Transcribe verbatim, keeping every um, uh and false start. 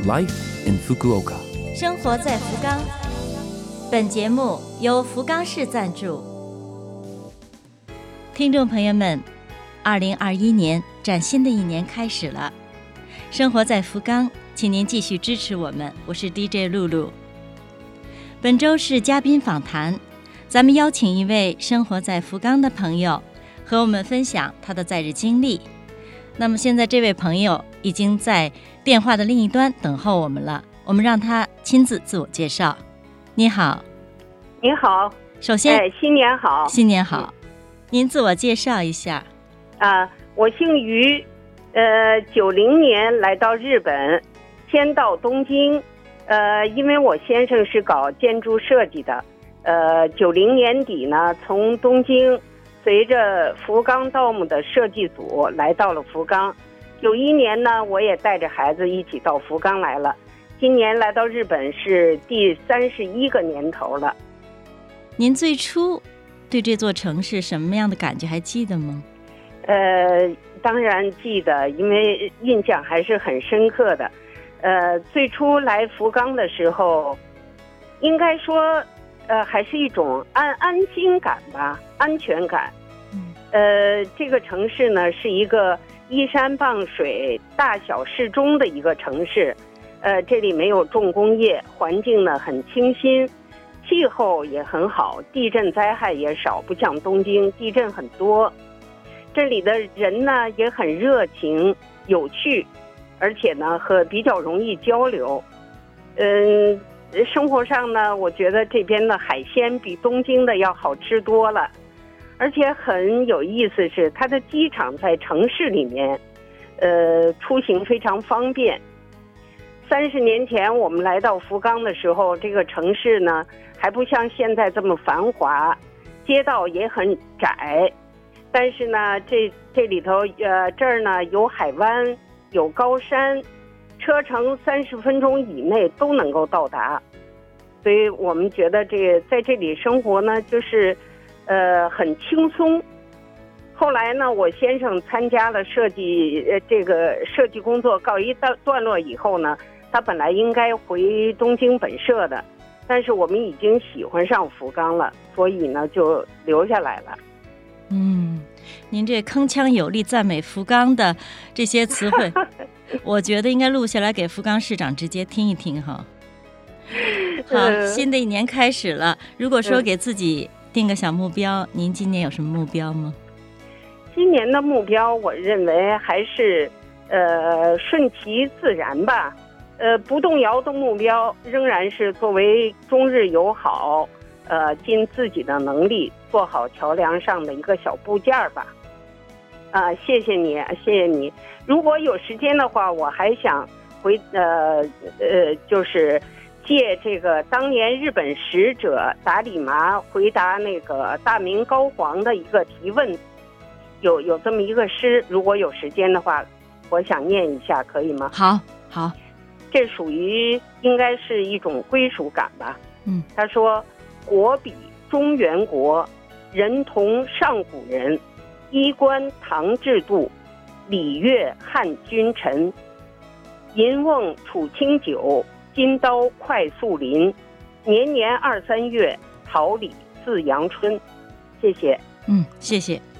Life in Fukuoka， 生活在福冈。本节目由福冈市赞助。听众朋友们，二零二一年崭新的一年开始了，生活在福冈，请您继续支持我们，我是 D J 露露。本周是嘉宾访谈，咱们邀请一位生活在福冈的朋友和我们分享他的在日经历。那么现在这位朋友已经在电话的另一端等候我们了，我们让他亲自自我介绍。你好。 你好。 首先、 哎、新年好。 新年好、嗯、您自我介绍一下。 啊，我姓于，呃，九零年来到日本，先到东京，呃，因为我先生是搞建筑设计的，呃，九零年底呢，从东京随着福冈道姆的设计组来到了福冈。九一年呢，我也带着孩子一起到福冈来了。今年来到日本是第三十一个年头了。 您最初对这座城市什么样的感觉还记得吗？ 呃，当然记得，因为印象还是很深刻的。呃，最初来福冈的时候，应该说，呃，还是一种安安心感吧，安全感。 嗯。 呃，这个城市呢，是一个依山傍水、大小适中的一个城市。呃，这里没有重工业，环境呢很清新，气候也很好，地震灾害也少，不像东京地震很多。这里的人呢也很热情有趣，而且呢和比较容易交流。嗯，生活上呢，我觉得这边的海鲜比东京的要好吃多了，而且很有意思是它的机场在城市里面，呃，出行非常方便。三十年前我们来到福冈的时候，这个城市呢还不像现在这么繁华，街道也很窄。但是呢，这这里头呃这儿呢有海湾，有高山，车程三十分钟以内都能够到达，所以我们觉得这个在这里生活呢，就是呃很轻松。后来呢，我先生参加了设计呃这个设计工作告一段段落以后呢，他本来应该回东京本社的，但是我们已经喜欢上福冈了，所以呢就留下来了。 嗯，您这铿锵有力赞美福冈的这些词汇我觉得应该录下来给福冈市长直接听一听哈。好，新的一年开始了，如果说给自己定个小目标、嗯、您今年有什么目标吗？ 今年的目标我认为还是呃顺其自然吧，呃不动摇的目标仍然是作为中日友好，呃尽自己的能力做好桥梁上的一个小部件吧。啊、呃，谢谢你，谢谢你。如果有时间的话，我还想回呃呃，就是借这个当年日本使者达里麻回答那个大明高皇的一个提问，有有这么一个诗，如果有时间的话，我想念一下，可以吗？ 好，好。 这属于应该是一种归属感吧。 嗯， 他说：“国比中原国，人同上古人，衣冠唐制度，礼乐汉君臣。银瓮储清酒，金刀快速临。年年二三月，桃李自阳春。”谢谢。 嗯，谢谢。